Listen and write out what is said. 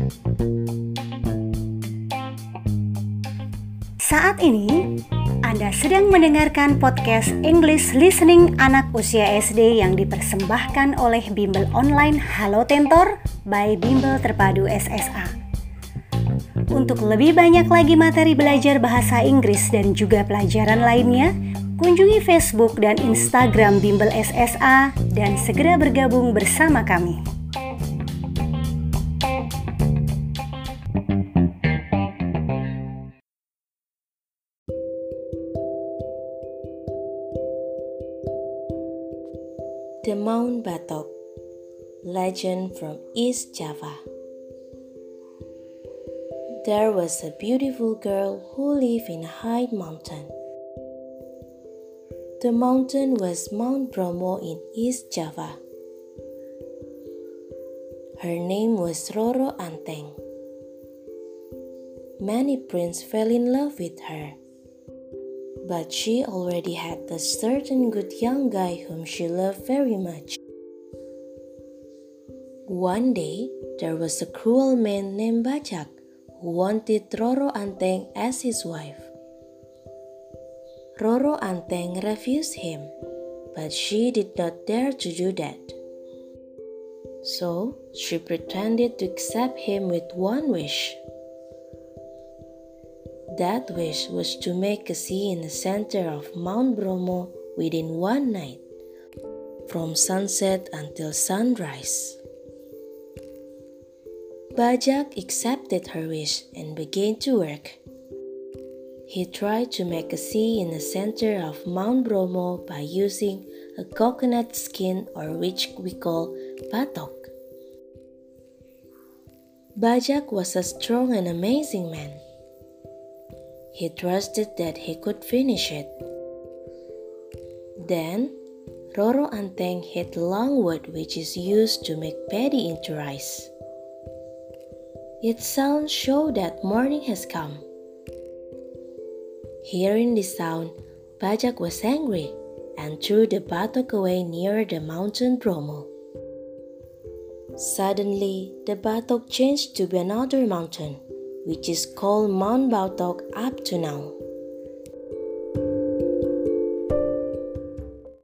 Saat ini, Anda sedang mendengarkan podcast English Listening anak usia SD yang dipersembahkan oleh Bimbel Online Halo Tentor by Bimbel Terpadu SSA. Untuk lebih banyak lagi materi belajar bahasa Inggris dan juga pelajaran lainnya, kunjungi Facebook dan Instagram Bimbel SSA dan segera bergabung bersama kami. The Mount Batok, legend from East Java. There was a beautiful girl who lived in a high mountain. The mountain was Mount Bromo in East Java. Her name was Roro Anteng. Many princes fell in love with her. But she already had a certain good young guy whom she loved very much. One day, there was a cruel man named Bajak who wanted Roro Anteng as his wife. Roro Anteng refused him, but she did not dare to do that. So, she pretended to accept him with one wish. That wish was to make a sea in the center of Mount Bromo within one night, from sunset until sunrise. Bajak accepted her wish and began to work. He tried to make a sea in the center of Mount Bromo by using a coconut skin, or which we call batok. Bajak was a strong and amazing man. He trusted that he could finish it. Then, Roro Anteng hit long wood which is used to make paddy into rice. Its sound showed that morning has come. Hearing the sound, Bajak was angry and threw the batok away near the mountain Bromo. Suddenly, the batok changed to be another mountain, which is called Mount Batok up to now.